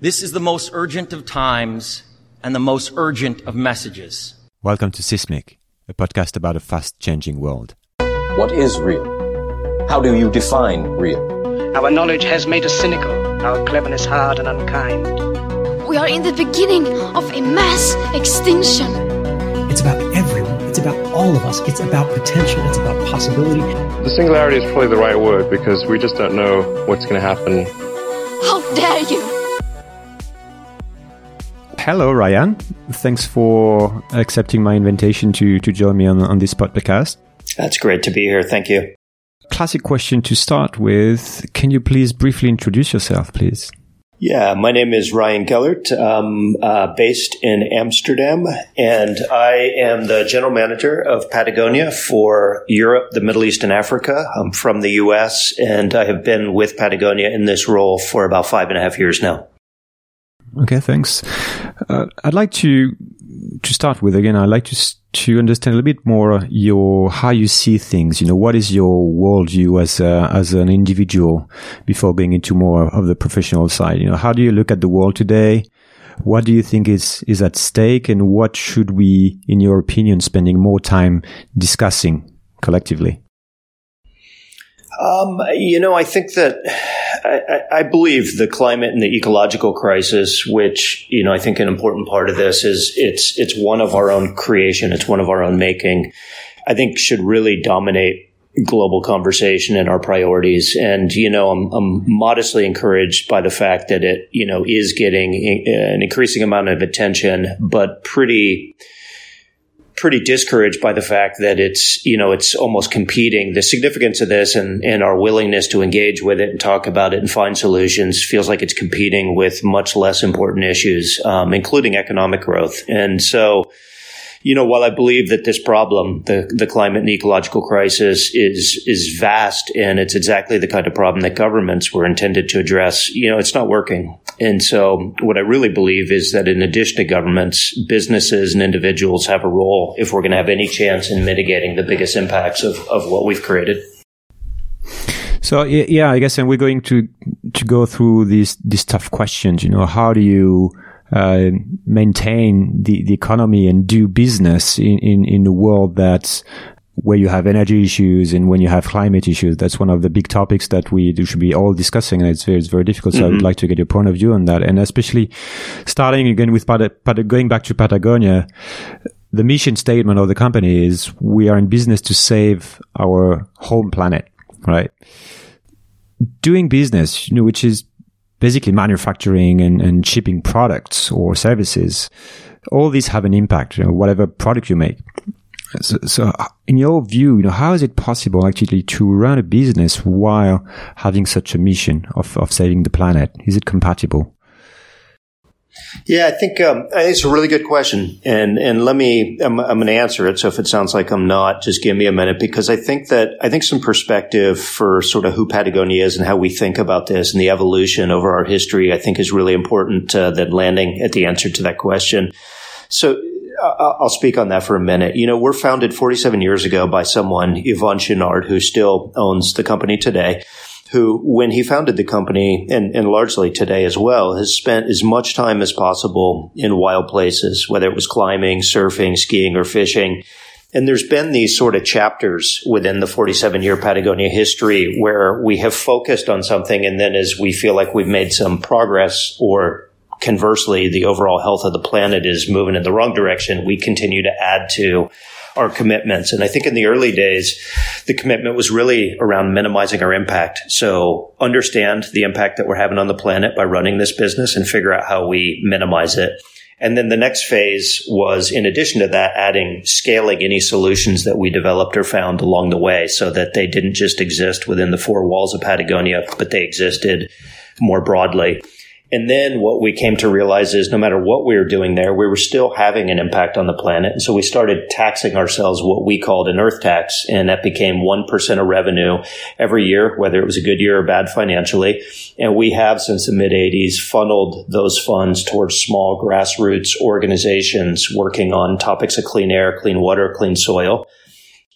This is the most urgent of times and the most urgent of messages. Welcome to Seismic, a podcast about a fast-changing world. What is real? How do you define real? Our knowledge has made us cynical, our cleverness hard and unkind. We are in the beginning of a mass extinction. It's about everyone. It's about all of us. It's about potential. It's about possibility. The singularity is probably the right word because we just don't know what's going to happen. How dare you! Hello, Ryan. Thanks for accepting my invitation to join me on this podcast. That's great to be here. Thank you. Classic question to start with. Can you please briefly introduce yourself, please? Yeah, my name is Ryan Gellert. I'm based in Amsterdam, and I am the general manager of Patagonia for Europe, the Middle East, and Africa. I'm from the U.S., and I have been with Patagonia in this role for about 5.5 years now. Okay, thanks. I'd like to start with, again, I'd like to understand a little bit more how you see things. You know, what is your worldview as an individual before going into more of the professional side? You know, how do you look at the world today? What do you think is at stake, and what should we, in your opinion, spending more time discussing collectively? I think that I believe the climate and the ecological crisis, which, I think an important part of this is it's one of our own creation. It's one of our own making, I think should really dominate global conversation and our priorities. And, I'm modestly encouraged by the fact that it, is getting an increasing amount of attention, but pretty discouraged by the fact that it's almost competing. The significance of this and our willingness to engage with it and talk about it and find solutions feels like it's competing with much less important issues, including economic growth. And so, while I believe that this problem, the climate and the ecological crisis is vast, and it's exactly the kind of problem that governments were intended to address, it's not working. And so what I really believe is that in addition to governments, businesses and individuals have a role if we're going to have any chance in mitigating the biggest impacts of what we've created. So, yeah, I guess, and we're going to go through these tough questions. How do you maintain the economy and do business in a world that's where you have energy issues and when you have climate issues? That's one of the big topics that we should be all discussing, and it's very difficult. So I would like to get your point of view on that, and especially starting again with going back to Patagonia. The mission statement of the company is we are in business to save our home planet, right? Doing business, which is basically manufacturing and shipping products or services, all these have an impact, whatever product you make. So in your view, how is it possible actually to run a business while having such a mission of saving the planet? Is it compatible? Yeah, I think it's a really good question, and I'm going to answer it. So if it sounds like I'm not, just give me a minute, because I think some perspective for sort of who Patagonia is and how we think about this and the evolution over our history, I think is really important than landing at the answer to that question. So I'll speak on that for a minute. We're founded 47 years ago by someone, Yvon Chouinard, who still owns the company today, who, when he founded the company, and largely today as well, has spent as much time as possible in wild places, whether it was climbing, surfing, skiing, or fishing. And there's been these sort of chapters within the 47-year Patagonia history where we have focused on something, and then as we feel like we've made some progress, or conversely, the overall health of the planet is moving in the wrong direction, we continue to add to our commitments. And I think in the early days, the commitment was really around minimizing our impact. So understand the impact that we're having on the planet by running this business and figure out how we minimize it. And then the next phase was, in addition to that, scaling any solutions that we developed or found along the way so that they didn't just exist within the four walls of Patagonia, but they existed more broadly. And then what we came to realize is no matter what we were doing there, we were still having an impact on the planet. And so we started taxing ourselves what we called an earth tax. And that became 1% of revenue every year, whether it was a good year or bad financially. And we have, since the mid-'80s, funneled those funds towards small grassroots organizations working on topics of clean air, clean water, clean soil.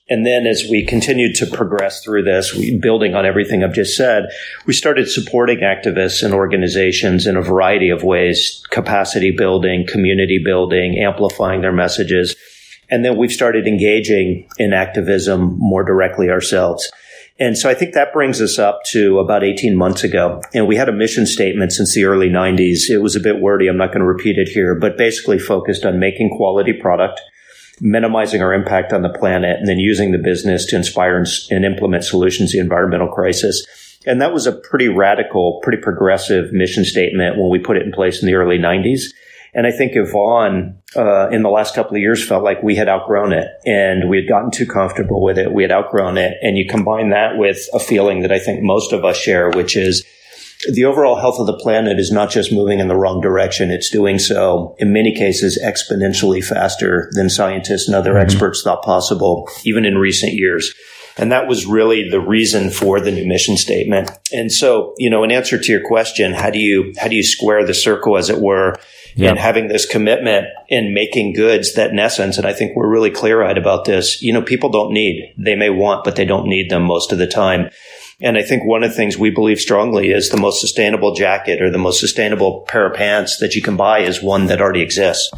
And then as we continued to progress through this, building on everything I've just said, we started supporting activists and organizations in a variety of ways, capacity building, community building, amplifying their messages. And then we've started engaging in activism more directly ourselves. And so I think that brings us up to about 18 months ago. And we had a mission statement since the early 90s. It was a bit wordy. I'm not going to repeat it here, but basically focused on making quality product, minimizing our impact on the planet, and then using the business to inspire and implement solutions to the environmental crisis. And that was a pretty radical, pretty progressive mission statement when we put it in place in the early 90s. And I think Yvon, in the last couple of years, felt like we had outgrown it and we had gotten too comfortable with it. We had outgrown it. And you combine that with a feeling that I think most of us share, which is the overall health of the planet is not just moving in the wrong direction. It's doing so, in many cases, exponentially faster than scientists and other experts thought possible, even in recent years. And that was really the reason for the new mission statement. And so, in answer to your question, how do you square the circle, as it were, and having this commitment in making goods that, in essence, and I think we're really clear-eyed about this, people don't need. They may want, but they don't need them most of the time. And I think one of the things we believe strongly is the most sustainable jacket or the most sustainable pair of pants that you can buy is one that already exists,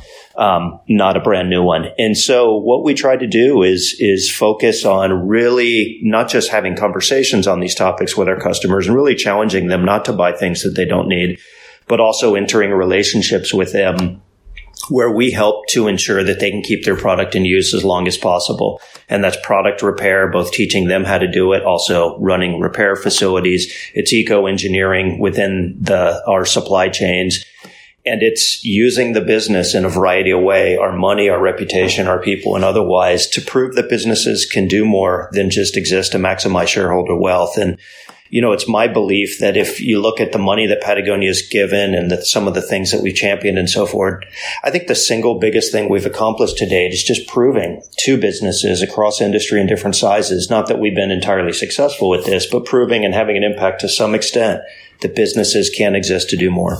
not a brand new one. And so what we try to do is focus on really not just having conversations on these topics with our customers and really challenging them not to buy things that they don't need, but also entering relationships with them where we help to ensure that they can keep their product in use as long as possible. And that's product repair, both teaching them how to do it, also running repair facilities. It's eco-engineering within our supply chains. And it's using the business in a variety of ways, our money, our reputation, our people, and otherwise, to prove that businesses can do more than just exist to maximize shareholder wealth. And it's my belief that if you look at the money that Patagonia has given and some of the things that we've championed and so forth, I think the single biggest thing we've accomplished to date is just proving to businesses across industry and different sizes, not that we've been entirely successful with this, but proving and having an impact to some extent that businesses can exist to do more.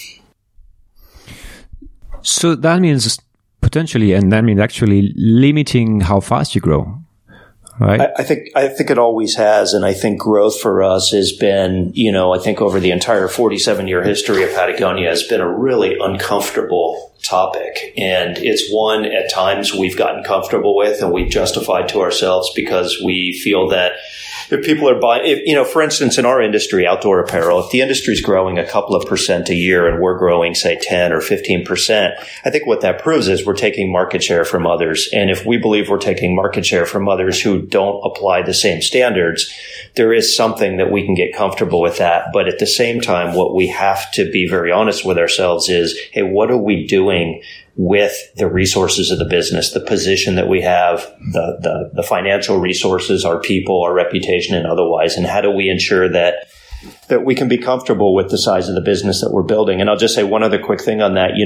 So that means potentially, and that means actually limiting how fast you grow. Right. I think it always has. And I think growth for us has been, I think over the entire 47-year history of Patagonia has been a really uncomfortable topic. And it's one at times we've gotten comfortable with and we've justified to ourselves because we feel that if people are buying, for instance, in our industry, outdoor apparel, if the industry is growing a couple of % a year and we're growing, say, 10 or 15%, I think what that proves is we're taking market share from others. And if we believe we're taking market share from others who don't apply the same standards, there is something that we can get comfortable with that. But at the same time, what we have to be very honest with ourselves is, hey, what are we doing with the resources of the business, the position that we have, the financial resources, our people, our reputation, and otherwise, and how do we ensure that we can be comfortable with the size of the business that we're building? And I'll just say one other quick thing on that.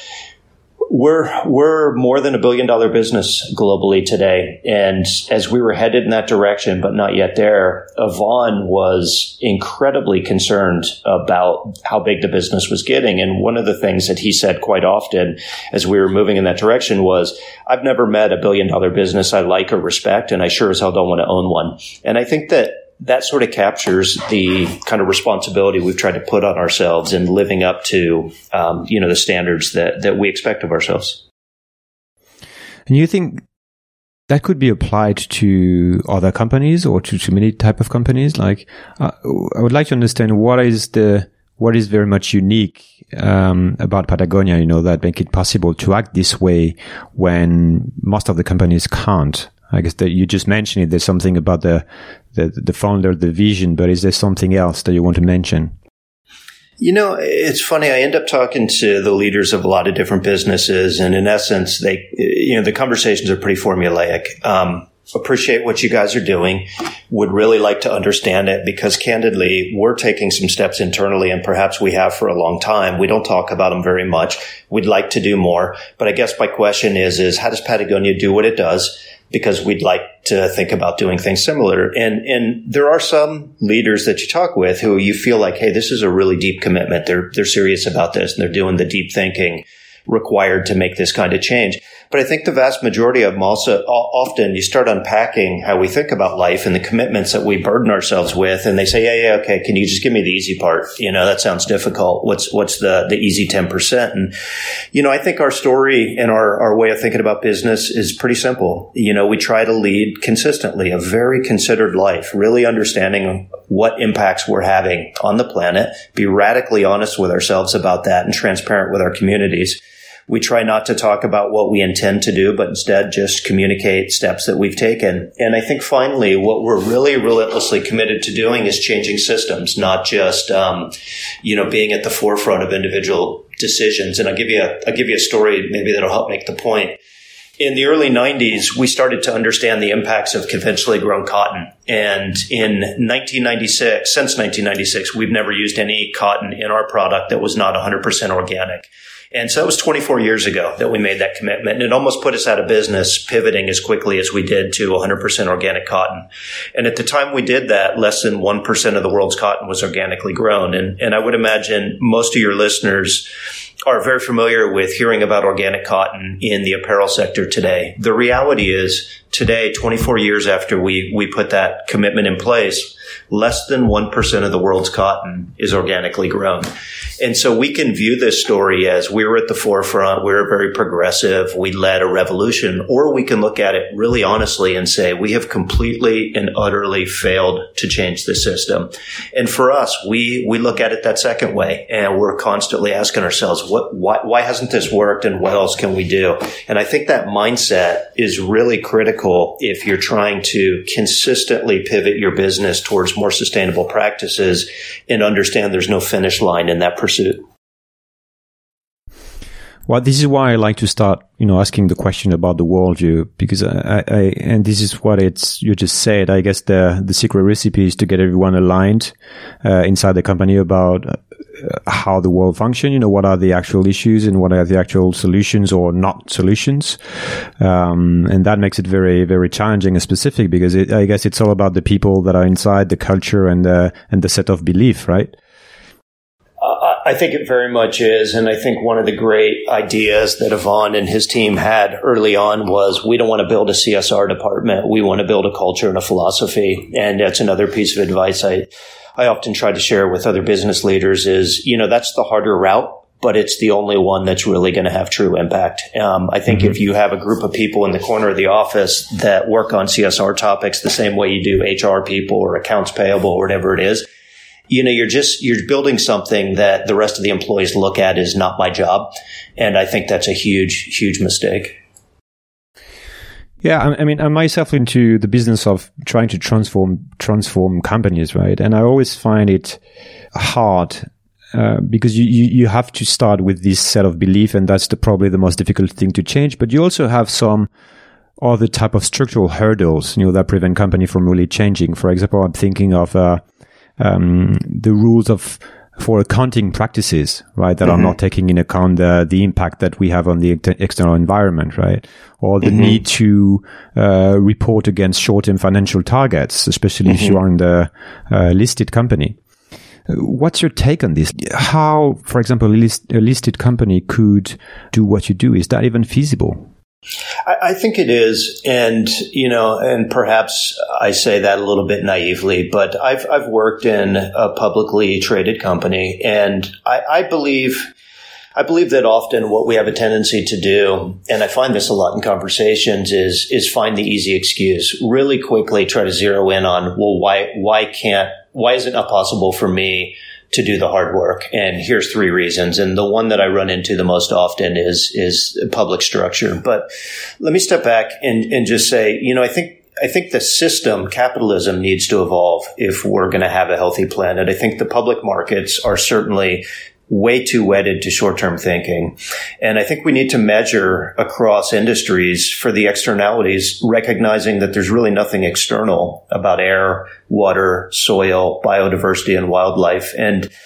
We're more than $1 billion business globally today. And as we were headed in that direction, but not yet there, Yvon was incredibly concerned about how big the business was getting. And one of the things that he said quite often as we were moving in that direction was, I've never met a $1 billion business I like or respect, and I sure as hell don't want to own one. And I think that sort of captures the kind of responsibility we've tried to put on ourselves in living up to, the standards that we expect of ourselves. And you think that could be applied to other companies or to many type of companies? Like, I would like to understand what is very much unique about Patagonia, that make it possible to act this way when most of the companies can't. I guess that you just mentioned it. There's something about the founder, the vision, but is there something else that you want to mention? It's funny. I end up talking to the leaders of a lot of different businesses, and in essence, the conversations are pretty formulaic. Appreciate what you guys are doing. Would really like to understand it because, candidly, we're taking some steps internally, and perhaps we have for a long time. We don't talk about them very much. We'd like to do more, but I guess my question is how does Patagonia do what it does? Because we'd like to think about doing things similar. And there are some leaders that you talk with who you feel like, hey, this is a really deep commitment. They're serious about this and they're doing the deep thinking required to make this kind of change. But I think the vast majority of them also, often you start unpacking how we think about life and the commitments that we burden ourselves with. And they say, yeah, okay, can you just give me the easy part? That sounds difficult. What's the easy 10%? And, I think our story and our way of thinking about business is pretty simple. We try to lead consistently a very considered life, really understanding what impacts we're having on the planet, be radically honest with ourselves about that and transparent with our communities. We try not to talk about what we intend to do, but instead just communicate steps that we've taken. And I think finally, what we're really relentlessly committed to doing is changing systems, not just, being at the forefront of individual decisions. And I'll give you a story maybe that'll help make the point. In the early 90s, we started to understand the impacts of conventionally grown cotton. And in 1996, since 1996, we've never used any cotton in our product that was not 100% organic. And so that was 24 years ago that we made that commitment. And it almost put us out of business, pivoting as quickly as we did to 100% organic cotton. And at the time we did that, less than 1% of the world's cotton was organically grown. And I would imagine most of your listeners are very familiar with hearing about organic cotton in the apparel sector today. The reality is today, 24 years after we put that commitment in place, less than 1% of the world's cotton is organically grown. And so we can view this story as we were at the forefront, we were very progressive, we led a revolution, or we can look at it really honestly and say we have completely and utterly failed to change the system. And for us, we look at it that second way, and we're constantly asking ourselves, why hasn't this worked, and what else can we do? And I think that mindset is really critical if you're trying to consistently pivot your business towards more sustainable practices and understand there's no finish line in that pursuit. Well, this is why I like to start, asking the question about the worldview, because and this is what you just said. I guess the secret recipe is to get everyone aligned inside the company about how the world functions. What are the actual issues and what are the actual solutions or not solutions, and that makes it very, very challenging and specific, because I guess it's all about the people that are inside, the culture and the set of belief, right? I think it very much is. And I think one of the great ideas that Yvon and his team had early on was, we don't want to build a CSR department. We want to build a culture and a philosophy. And that's another piece of advice I often try to share with other business leaders is, that's the harder route, but it's the only one that's really going to have true impact. I think if you have a group of people in the corner of the office that work on CSR topics the same way you do HR people or accounts payable or whatever it is, you're building something that the rest of the employees look at as not my job. And I think that's a huge, huge mistake. Yeah. I mean, I'm myself into the business of trying to transform companies, right? And I always find it hard, because you have to start with this set of belief, and that's probably the most difficult thing to change. But you also have some other type of structural hurdles, that prevent company from really changing. For example, I'm thinking of, the rules for accounting practices, right, that are not taking into account the impact that we have on the external environment, right, or the need to report against short-term financial targets, especially if you are in the listed company. What's your take on this? How, for example, a listed company could do what you do? Is that even feasible? I think it is. And, and perhaps I say that a little bit naively, but I've worked in a publicly traded company, and I believe that often what we have a tendency to do, and I find this a lot in conversations, is find the easy excuse. Really quickly try to zero in on, well, why is it not possible for me to do the hard work? And here's 3 reasons. And the one that I run into the most often is public structure. But let me step back and just say, I think the system, capitalism, needs to evolve if we're going to have a healthy planet. I think the public markets are certainly way too wedded to short-term thinking. And I think we need to measure across industries for the externalities, recognizing that there's really nothing external about air, water, soil, biodiversity, and wildlife. And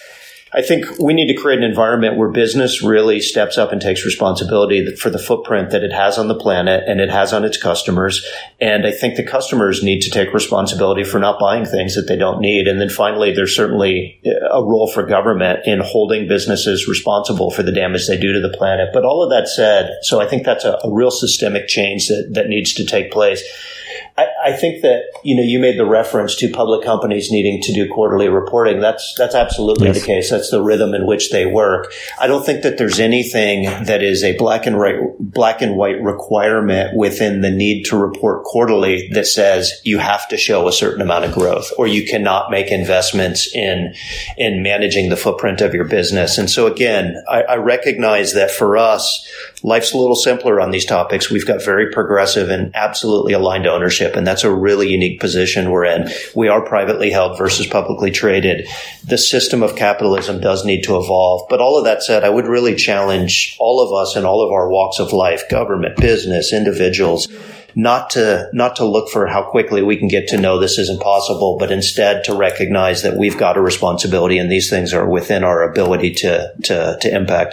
I think we need to create an environment where business really steps up and takes responsibility for the footprint that it has on the planet and it has on its customers. And I think the customers need to take responsibility for not buying things that they don't need. And then finally, there's certainly a role for government in holding businesses responsible for the damage they do to the planet. But all of that said, so I think that's a real systemic change that needs to take place. I think that, you made the reference to public companies needing to do quarterly reporting. That's absolutely the case. That's the rhythm in which they work. I don't think that there's anything that is a black and white requirement within the need to report quarterly that says you have to show a certain amount of growth or you cannot make investments in managing the footprint of your business. And so again, I recognize that for us, life's a little simpler on these topics. We've got very progressive and absolutely aligned ownership, and that's a really unique position we're in. We are privately held versus publicly traded. The system of capitalism does need to evolve. But all of that said, I would really challenge all of us in all of our walks of life, government, business, individuals, not to look for how quickly we can get to know this isn't possible, but instead to recognize that we've got a responsibility and these things are within our ability to impact.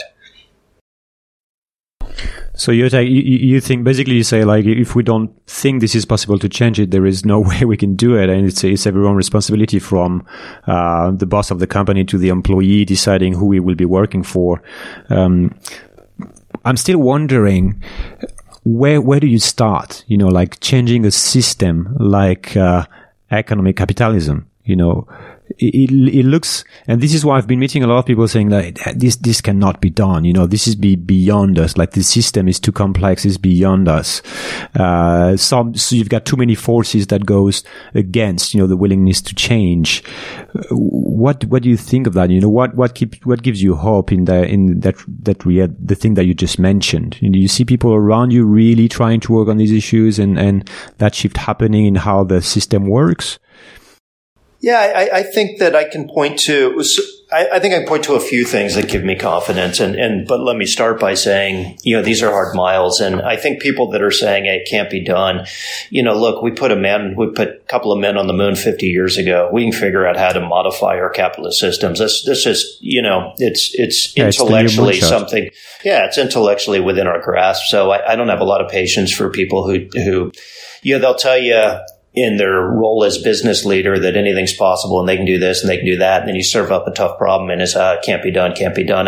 So you think, basically you say, like, if we don't think this is possible to change it, there is no way we can do it. And it's everyone's responsibility, from the boss of the company to the employee deciding who we will be working for. I'm still wondering, where do you start? Like changing a system like economic capitalism, It looks, and this is why I've been meeting a lot of people saying that this cannot be done. This is beyond us. Like the system is too complex, it's beyond us. So you've got too many forces that goes against, the willingness to change. What do you think of that? What gives you hope in the thing that you just mentioned? You see people around you really trying to work on these issues and that shift happening in how the system works? Yeah, I think that I can point to. I think I can point to a few things that give me confidence. But let me start by saying, these are hard miles, and I think people that are saying it can't be done. Look, we put a couple of men on the moon 50 years ago. We can figure out how to modify our capitalist systems. This is, it's intellectually something. Yeah, it's intellectually within our grasp. So I don't have a lot of patience for people who they'll tell you in their role as business leader that anything's possible and they can do this and they can do that. And then you serve up a tough problem and it's, can't be done.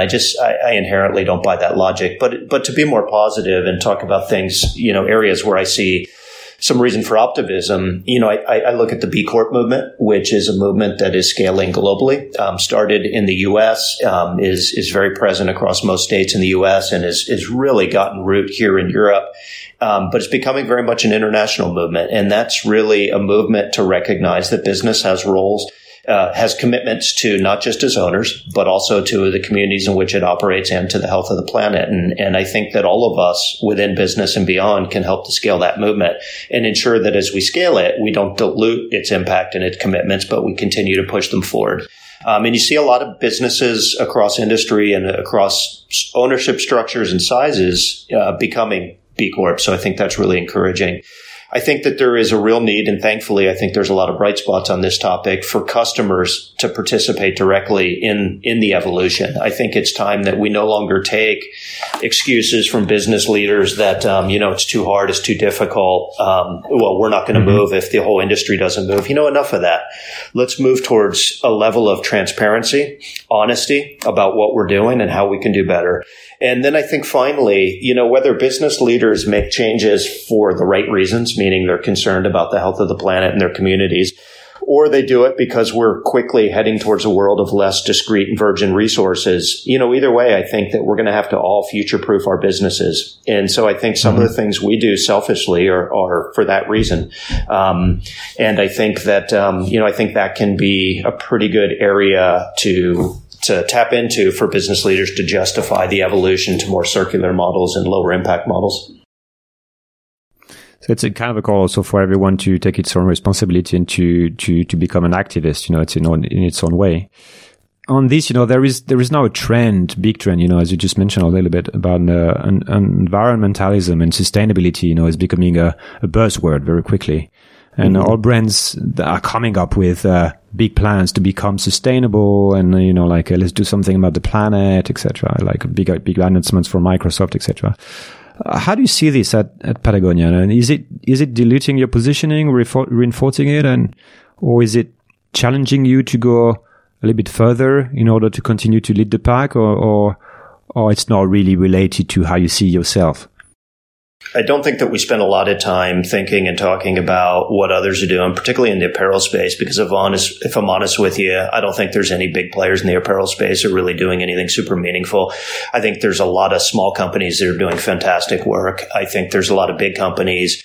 I inherently don't buy that logic. But to be more positive and talk about things, areas where I see some reason for optimism, I look at the B Corp movement, which is a movement that is scaling globally, started in the U.S., is very present across most states in the U.S. and is really gotten root here in Europe. But it's becoming very much an international movement. And that's really a movement to recognize that business has roles, has commitments to not just its owners, but also to the communities in which it operates and to the health of the planet. And I think that all of us within business and beyond can help to scale that movement and ensure that as we scale it, we don't dilute its impact and its commitments, but we continue to push them forward. And you see a lot of businesses across industry and across ownership structures and sizes becoming B Corp. So I think that's really encouraging. I think that there is a real need, and thankfully I think there's a lot of bright spots on this topic, for customers to participate directly in the evolution. I think it's time that we no longer take excuses from business leaders that, it's too hard, it's too difficult. We're not going to move if the whole industry doesn't move. Enough of that. Let's move towards a level of transparency, honesty about what we're doing and how we can do better. And then I think finally, whether business leaders make changes for the right reasons, meaning they're concerned about the health of the planet and their communities, or they do it because we're quickly heading towards a world of less discrete and virgin resources, either way, I think that we're going to have to all future-proof our businesses. And so I think some of the things we do selfishly are for that reason. And I think that, I think that can be a pretty good area to tap into for business leaders to justify the evolution to more circular models and lower impact models. So it's a kind of a call also for everyone to take its own responsibility and to become an activist. It's in its own way. On this, there is now a big trend, as you just mentioned a little bit about environmentalism and sustainability, is becoming a buzzword very quickly. And all brands that are coming up with big plans to become sustainable, and let's do something about the planet, etc. Like big announcements from Microsoft, etc. How do you see this at Patagonia? And is it diluting your positioning, reinforcing it, or is it challenging you to go a little bit further in order to continue to lead the pack, or it's not really related to how you see yourself? I don't think that we spend a lot of time thinking and talking about what others are doing, particularly in the apparel space, because if I'm honest with you, I don't think there's any big players in the apparel space who are really doing anything super meaningful. I think there's a lot of small companies that are doing fantastic work. I think there's a lot of big companies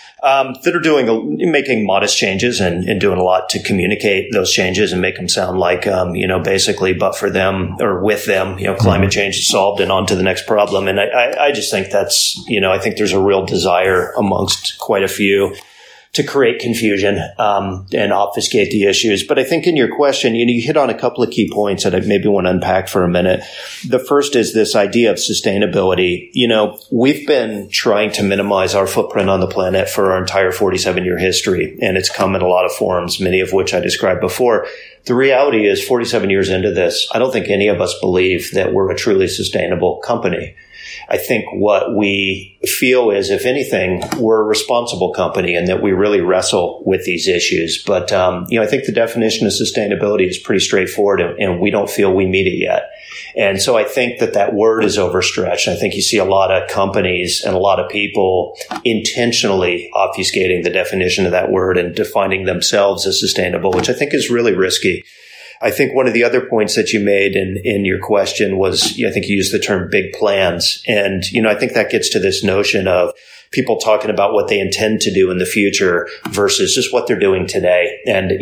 that are making modest changes and doing a lot to communicate those changes and make them sound like, basically, but for them or with them, climate change is solved and on to the next problem. And I just think that's, I think there's a real desire amongst quite a few to create confusion and obfuscate the issues. But I think in your question, you hit on a couple of key points that I maybe want to unpack for a minute. The first is this idea of sustainability. We've been trying to minimize our footprint on the planet for our entire 47-year history, and it's come in a lot of forms, many of which I described before. The reality is 47 years into this, I don't think any of us believe that we're a truly sustainable company. I think what we feel is, if anything, we're a responsible company and that we really wrestle with these issues. But, I think the definition of sustainability is pretty straightforward, and we don't feel we meet it yet. And so I think that word is overstretched. I think you see a lot of companies and a lot of people intentionally obfuscating the definition of that word and defining themselves as sustainable, which I think is really risky. I think one of the other points that you made in your question was, I think you used the term big plans. And, I think that gets to this notion of people talking about what they intend to do in the future versus just what they're doing today. And,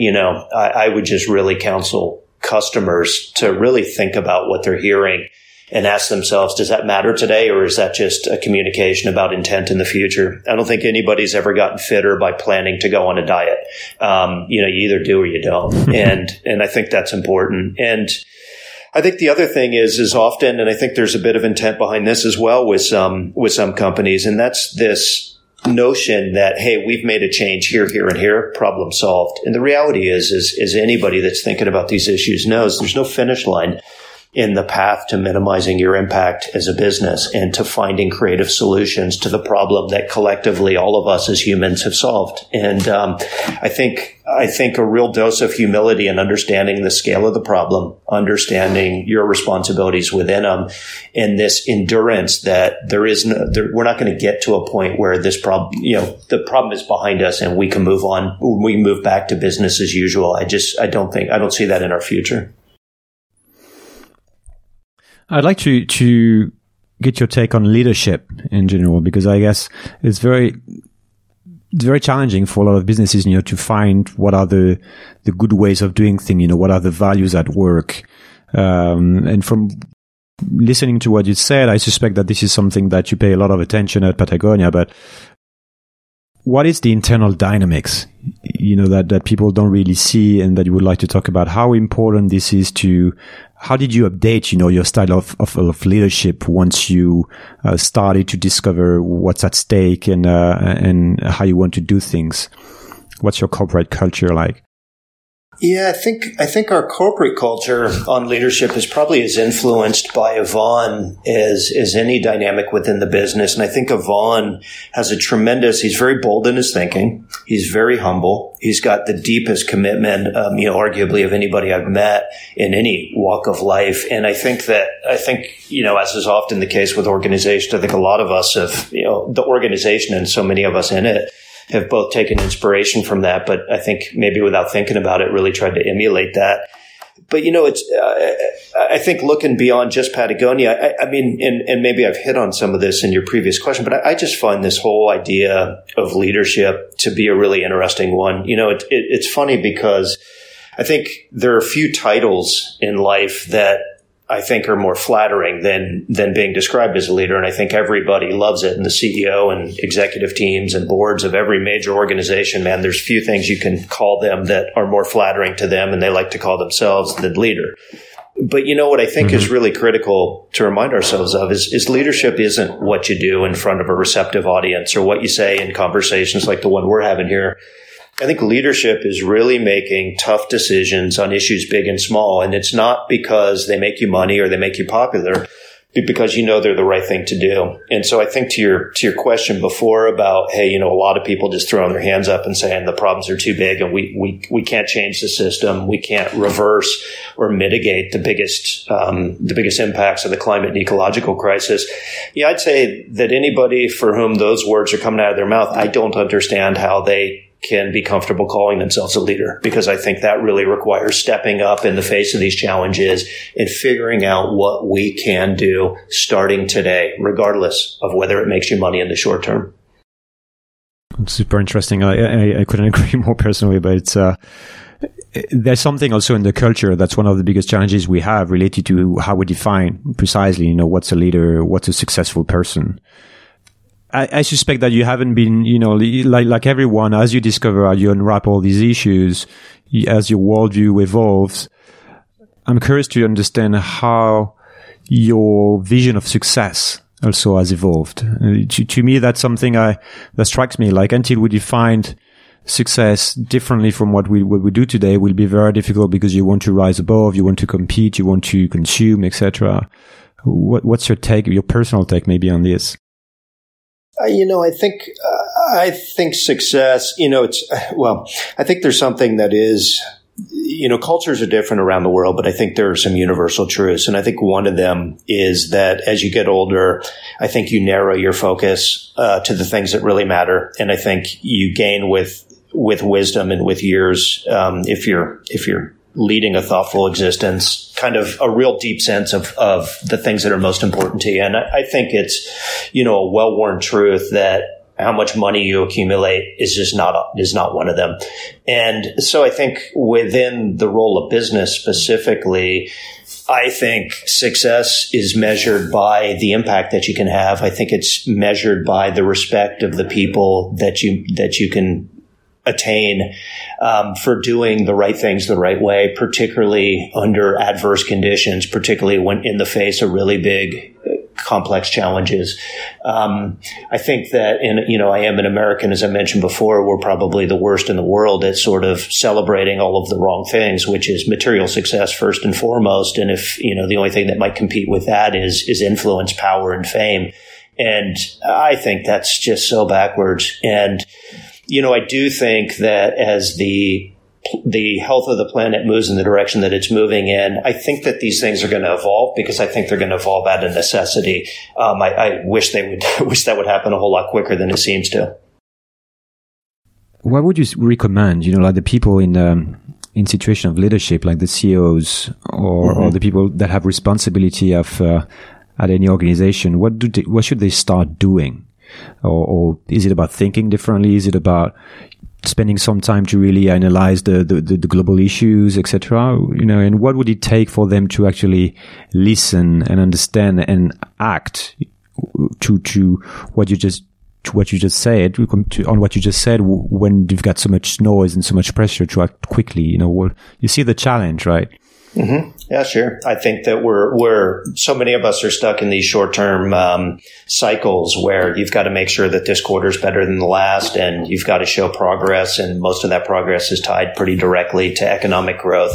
I would just really counsel customers to really think about what they're hearing and ask themselves, does that matter today, or is that just a communication about intent in the future? I don't think anybody's ever gotten fitter by planning to go on a diet. You either do or you don't. And I think that's important. And I think the other thing is often, and I think there's a bit of intent behind this as well with some companies, and that's this notion that, hey, we've made a change here, and here, problem solved. And the reality is anybody that's thinking about these issues knows there's no finish line in the path to minimizing your impact as a business and to finding creative solutions to the problem that collectively all of us as humans have solved. And I think a real dose of humility and understanding the scale of the problem, understanding your responsibilities within them, and this endurance that we're not going to get to a point where this problem, the problem is behind us and we can move on. We move back to business as usual. I don't see that in our future. I'd like to get your take on leadership in general, because I guess it's very challenging for a lot of businesses, to find what are the good ways of doing things, what are the values at work. And from listening to what you said, I suspect that this is something that you pay a lot of attention at Patagonia, but what is the internal dynamics, that people don't really see and that you would like to talk about? How important this is how did you update, your style of leadership once you started to discover what's at stake and how you want to do things? What's your corporate culture like? Yeah, I think our corporate culture on leadership is probably as influenced by Yvon as any dynamic within the business. And I think Yvon has he's very bold in his thinking. He's very humble. He's got the deepest commitment, arguably of anybody I've met in any walk of life. And I think, as is often the case with organizations, I think a lot of us the organization and so many of us in it have both taken inspiration from that, but I think maybe without thinking about it, really tried to emulate that. But, I think looking beyond just Patagonia, and maybe I've hit on some of this in your previous question, but I just find this whole idea of leadership to be a really interesting one. It's funny because I think there are a few titles in life that I think are more flattering than being described as a leader. And I think everybody loves it. And the CEO and executive teams and boards of every major organization, man, there's few things you can call them that are more flattering to them and they like to call themselves than leader. But what I think is really critical to remind ourselves of is leadership isn't what you do in front of a receptive audience or what you say in conversations like the one we're having here. I think leadership is really making tough decisions on issues big and small. And it's not because they make you money or they make you popular, but because you know they're the right thing to do. And so I think to your question before about, hey, a lot of people just throwing their hands up and saying the problems are too big and we can't change the system. We can't reverse or mitigate the biggest impacts of the climate and ecological crisis. Yeah, I'd say that anybody for whom those words are coming out of their mouth, I don't understand how they can be comfortable calling themselves a leader, because I think that really requires stepping up in the face of these challenges and figuring out what we can do starting today, regardless of whether it makes you money in the short term. Super interesting. I couldn't agree more personally, but it's there's something also in the culture that's one of the biggest challenges we have related to how we define precisely, what's a leader, what's a successful person. I suspect that you haven't been, like everyone, as you discover, as you unwrap all these issues, as your worldview evolves. I'm curious to understand how your vision of success also has evolved. To me, that's something that strikes me. Like, until we defined success differently from what we do today, will be very difficult, because you want to rise above, you want to compete, you want to consume, etc. What's your take, your personal take, maybe on this? I think success, I think there's something that is, cultures are different around the world, but I think there are some universal truths. And I think one of them is that as you get older, I think you narrow your focus to the things that really matter. And I think you gain with wisdom and with years, if you're leading a thoughtful existence, kind of a real deep sense of the things that are most important to you. And I think it's, a well-worn truth that how much money you accumulate is not one of them. And so I think within the role of business specifically, I think success is measured by the impact that you can have. I think it's measured by the respect of the people that you can attain for doing the right things the right way, particularly under adverse conditions, particularly when in the face of really big, complex challenges. I think that I am an American, as I mentioned before. We're probably the worst in the world at sort of celebrating all of the wrong things, which is material success first and foremost. And if, the only thing that might compete with that is influence, power, and fame. And I think that's just so backwards. And I do think that as the health of the planet moves in the direction that it's moving in, I think that these things are going to evolve, because I think they're going to evolve out of necessity. I wish that would happen a whole lot quicker than it seems to. What would you recommend, like the people in situation of leadership, like the CEOs or the people that have responsibility of at any organization? What should they start doing? Or is it about thinking differently? Is it about spending some time to really analyze the global issues, etc.? And what would it take for them to actually listen and understand and act to what you just said, on what you just said, when you've got so much noise and so much pressure to act quickly? You see the challenge, right? Mm-hmm. Yeah, sure. I think that we're so many of us are stuck in these short-term cycles where you've got to make sure that this quarter is better than the last, and you've got to show progress, and most of that progress is tied pretty directly to economic growth.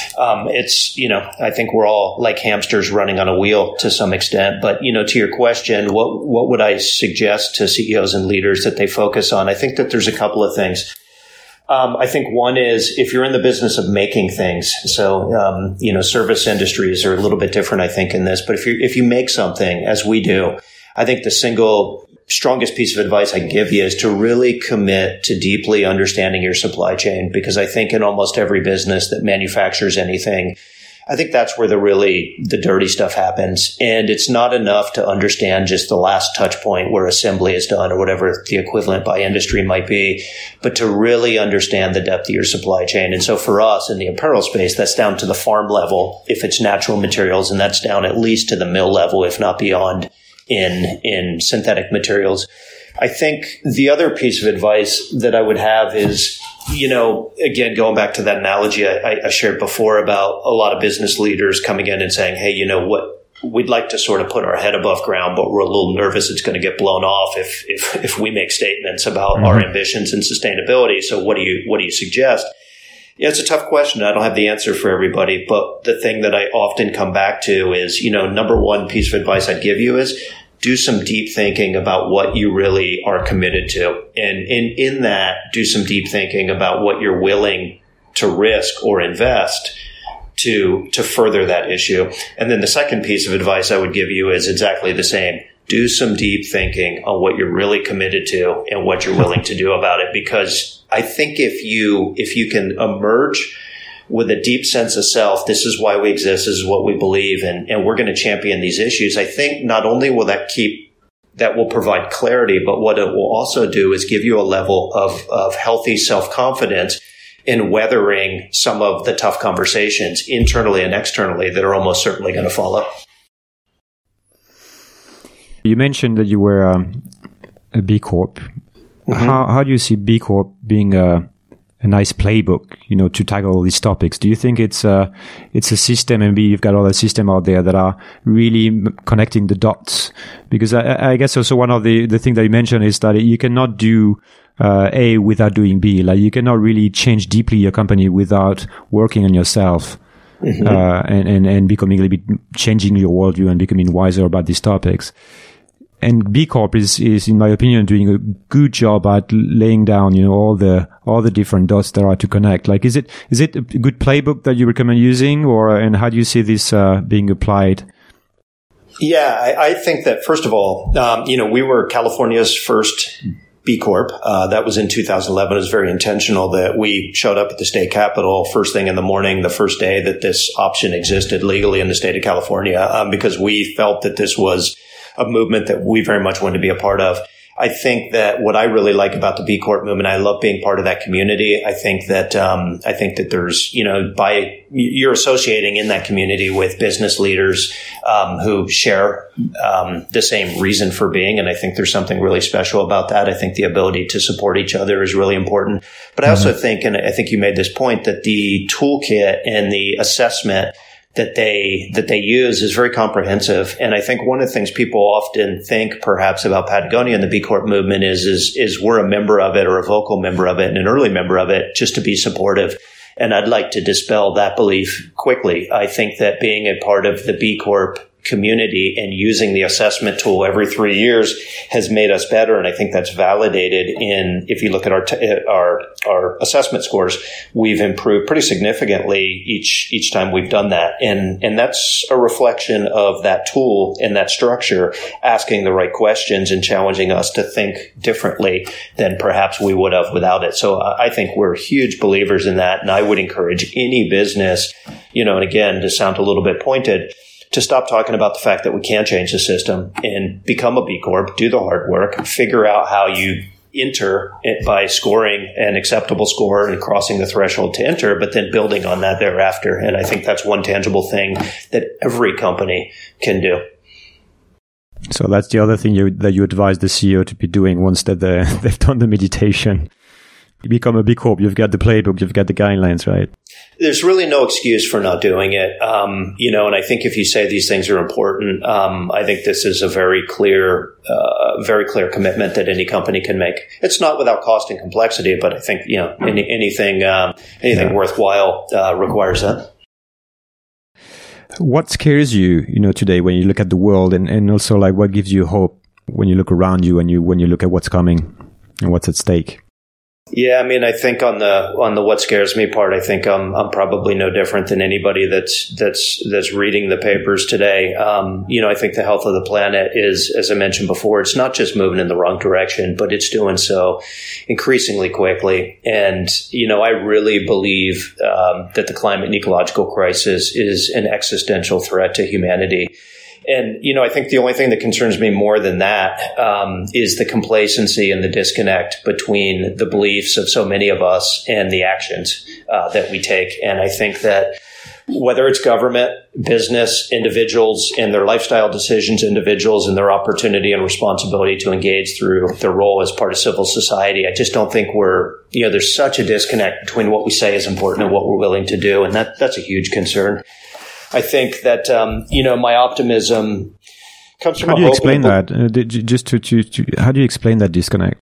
I think we're all like hamsters running on a wheel to some extent. But to your question, what would I suggest to CEOs and leaders that they focus on? I think that there's a couple of things. I think one is, if you're in the business of making things, so, service industries are a little bit different, I think, in this, but if you make something, as we do, I think the single strongest piece of advice I can give you is to really commit to deeply understanding your supply chain, because I think in almost every business that manufactures anything, I think that's where the dirty stuff happens. And it's not enough to understand just the last touch point where assembly is done or whatever the equivalent by industry might be, but to really understand the depth of your supply chain. And so for us in the apparel space, that's down to the farm level if it's natural materials, and that's down at least to the mill level, if not beyond, in synthetic materials. I think the other piece of advice that I would have is, again, going back to that analogy I shared before about a lot of business leaders coming in and saying, hey, we'd like to sort of put our head above ground, but we're a little nervous it's going to get blown off if we make statements about our ambitions and sustainability. So what do you suggest? Yeah, it's a tough question. I don't have the answer for everybody, but the thing that I often come back to is, number one piece of advice I'd give you is do some deep thinking about what you really are committed to. And in that, do some deep thinking about what you're willing to risk or invest to further that issue. And then the second piece of advice I would give you is exactly the same. Do some deep thinking on what you're really committed to and what you're willing to do about it. Because I think if you can emerge with a deep sense of self, this is why we exist, this is what we believe, and we're going to champion these issues, I think not only will that will provide clarity, but what it will also do is give you a level of healthy self-confidence in weathering some of the tough conversations internally and externally that are almost certainly going to follow. You mentioned that you were a B Corp. Mm-hmm. How do you see B Corp being a nice playbook, to tackle all these topics? Do you think it's a system, and you've got other systems out there that are really connecting the dots? Because I guess also one of the things that you mentioned is that you cannot do A without doing B. Like you cannot really change deeply your company without working on yourself. Mm-hmm. And becoming a little bit, changing your worldview and becoming wiser about these topics. And B Corp is, in my opinion, doing a good job at laying down, all the different dots there are to connect. Like, is it a good playbook that you recommend using, and how do you see this being applied? Yeah, I think that first of all, we were California's first B Corp. That was in 2011. It was very intentional that we showed up at the state capitol first thing in the morning, the first day that this option existed legally in the state of California, because we felt that this was a movement that we very much wanted to be a part of. I think that what I really like about the B Corp movement, I love being part of that community. I think that there's, you're associating in that community with business leaders, who share, the same reason for being. And I think there's something really special about that. I think the ability to support each other is really important. But I also think, and I think you made this point, that the toolkit and the assessment that they use is very comprehensive. And I think one of the things people often think perhaps about Patagonia and the B Corp movement is we're a member of it, or a vocal member of it, and an early member of it, just to be supportive. And I'd like to dispel that belief quickly. I think that being a part of the B Corp community and using the assessment tool every 3 years has made us better. And I think that's validated if you look at our assessment scores, we've improved pretty significantly each time we've done that. And that's a reflection of that tool and that structure asking the right questions and challenging us to think differently than perhaps we would have without it. So I think we're huge believers in that. And I would encourage any business, and again, to sound a little bit pointed, to stop talking about the fact that we can change the system and become a B Corp, do the hard work, figure out how you enter it by scoring an acceptable score and crossing the threshold to enter, but then building on that thereafter. And I think that's one tangible thing that every company can do. So that's the other thing that you advise the CEO to be doing once that they've done the meditation. You become a B Corp, you've got the playbook, you've got the guidelines, right? There's really no excuse for not doing it. And I think if you say these things are important, I think this is a very clear commitment that any company can make. It's not without cost and complexity, but I think, anything worthwhile, requires that. What scares you, today when you look at the world, and also like what gives you hope when you look around you and when you look at what's coming and what's at stake? Yeah, I think on the what scares me part, I think I'm probably no different than anybody that's reading the papers today. I think the health of the planet is, as I mentioned before, it's not just moving in the wrong direction, but it's doing so increasingly quickly. And I really believe that the climate and ecological crisis is an existential threat to humanity. And, I think the only thing that concerns me more than that is the complacency and the disconnect between the beliefs of so many of us and the actions that we take. And I think that whether it's government, business, individuals and their lifestyle decisions, individuals and their opportunity and responsibility to engage through their role as part of civil society, I just don't think there's such a disconnect between what we say is important and what we're willing to do. And that's a huge concern. I think that, my optimism comes from How do you explain that? How do you explain that disconnect?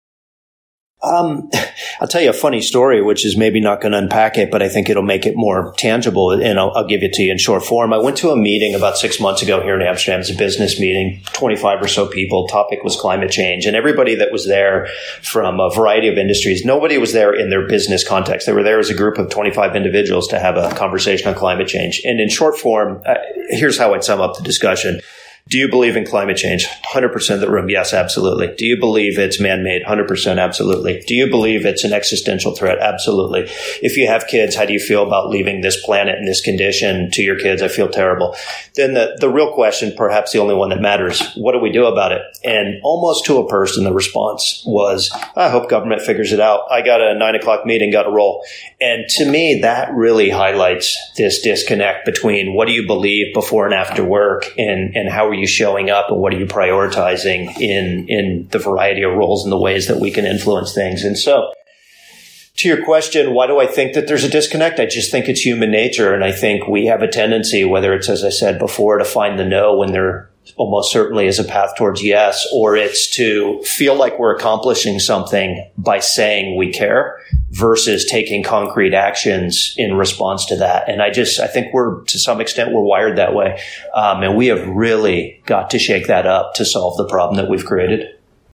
I'll tell you a funny story, which is maybe not going to unpack it, but I think it'll make it more tangible, and I'll give it to you in short form. I went to a meeting about 6 months ago here in Amsterdam. It's a business meeting, 25 or so people. Topic was climate change, and everybody that was there from a variety of industries, nobody was there in their business context. They were there as a group of 25 individuals to have a conversation on climate change. And in short form, here's how I'd sum up the discussion. Do you believe in climate change? 100% of the room. Yes, absolutely. Do you believe it's man-made? 100% absolutely. Do you believe it's an existential threat? Absolutely. If you have kids, how do you feel about leaving this planet in this condition to your kids? I feel terrible. Then the real question, perhaps the only one that matters, what do we do about it? And almost to a person, the response was, I hope government figures it out. I got a 9:00 meeting, got to roll. And to me, that really highlights this disconnect between what do you believe before and after work and how are you showing up and what are you prioritizing in the variety of roles and the ways that we can influence things. And so to your question, why do I think that there's a disconnect? I just think it's human nature. And I think we have a tendency, whether it's, as I said before, to find the no when there almost certainly is a path towards yes, or it's to feel like we're accomplishing something by saying we care versus taking concrete actions in response to that. And I think to some extent, we're wired that way. And we have really got to shake that up to solve the problem that we've created.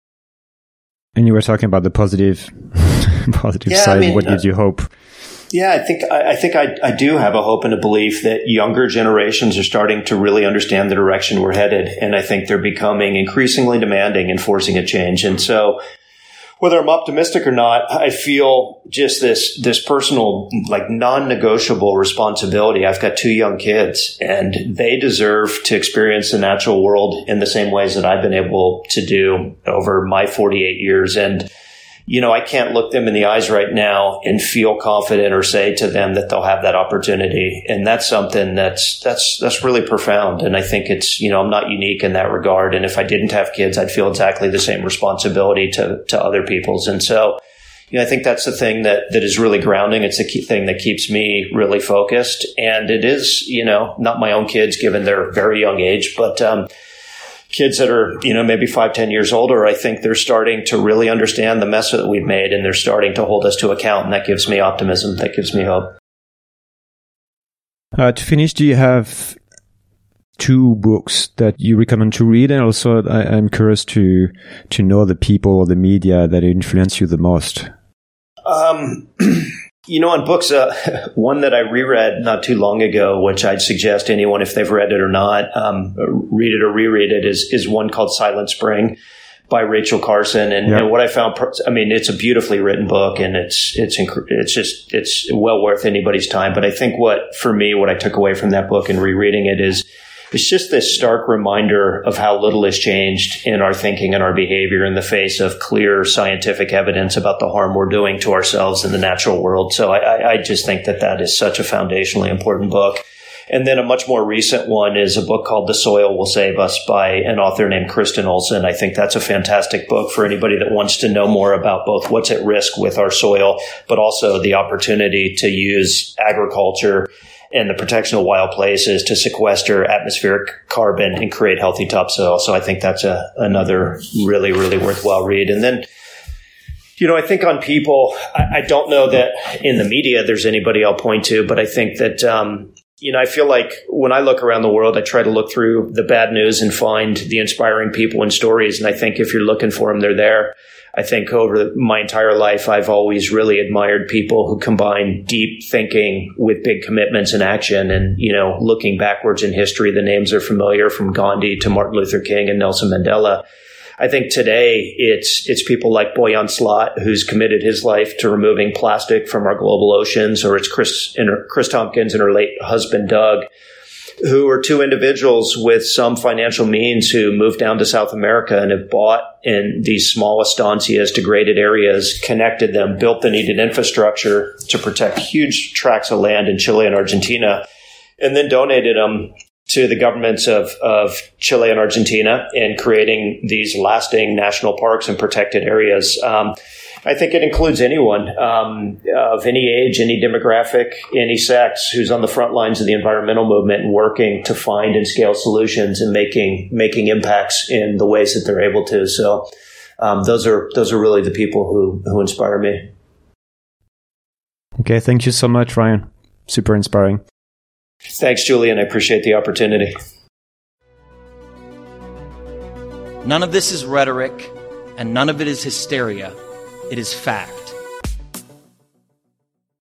And you were talking about the positive side. What gives you hope? Yeah, I think I do have a hope and a belief that younger generations are starting to really understand the direction we're headed. And I think they're becoming increasingly demanding and forcing a change. And so whether I'm optimistic or not, I feel just this personal, like non-negotiable responsibility. I've got 2 young kids and they deserve to experience the natural world in the same ways that I've been able to do over my 48 years. And I can't look them in the eyes right now and feel confident or say to them that they'll have that opportunity. And that's something that's really profound. And I think it's, I'm not unique in that regard. And if I didn't have kids, I'd feel exactly the same responsibility to other people's. And so, I think that's the thing that is really grounding. It's the key thing that keeps me really focused. And it is, not my own kids given their very young age, but, kids that are, maybe 5-10 years older, I think they're starting to really understand the mess that we've made and they're starting to hold us to account. And that gives me optimism. That gives me hope. To finish, do you have 2 books that you recommend to read? And also, I'm curious to know the people or the media that influence you the most. On books, one that I reread not too long ago, which I'd suggest anyone, if they've read it or not, read it or reread it, is one called Silent Spring by Rachel Carson. And what I found, it's a beautifully written book and it's well worth anybody's time. But I think what I took away from that book and rereading it is, it's just this stark reminder of how little has changed in our thinking and our behavior in the face of clear scientific evidence about the harm we're doing to ourselves and the natural world. So I just think that is such a foundationally important book. And then a much more recent one is a book called The Soil Will Save Us by an author named Kristen Olson. I think that's a fantastic book for anybody that wants to know more about both what's at risk with our soil, but also the opportunity to use agriculture and the protection of wild places to sequester atmospheric carbon and create healthy topsoil. So I think that's another really, really worthwhile read. And then, I think on people, I don't know that in the media there's anybody I'll point to, but I think that, I feel like when I look around the world, I try to look through the bad news and find the inspiring people and stories. And I think if you're looking for them, they're there. I think over my entire life, I've always really admired people who combine deep thinking with big commitments and action. And, looking backwards in history, the names are familiar from Gandhi to Martin Luther King and Nelson Mandela. I think today it's people like Boyan Slat, who's committed his life to removing plastic from our global oceans, or it's Chris Tompkins and her late husband, Doug, who are 2 individuals with some financial means who moved down to South America and have bought in these small estancias, degraded areas, connected them, built the needed infrastructure to protect huge tracts of land in Chile and Argentina, and then donated them to the governments of Chile and Argentina in creating these lasting national parks and protected areas. I think it includes anyone of any age, any demographic, any sex who's on the front lines of the environmental movement and working to find and scale solutions and making impacts in the ways that they're able to. So those are really the people who inspire me. Okay, thank you so much, Ryan. Super inspiring. Thanks, Julian. I appreciate the opportunity. None of this is rhetoric, and none of it is hysteria. It is fact.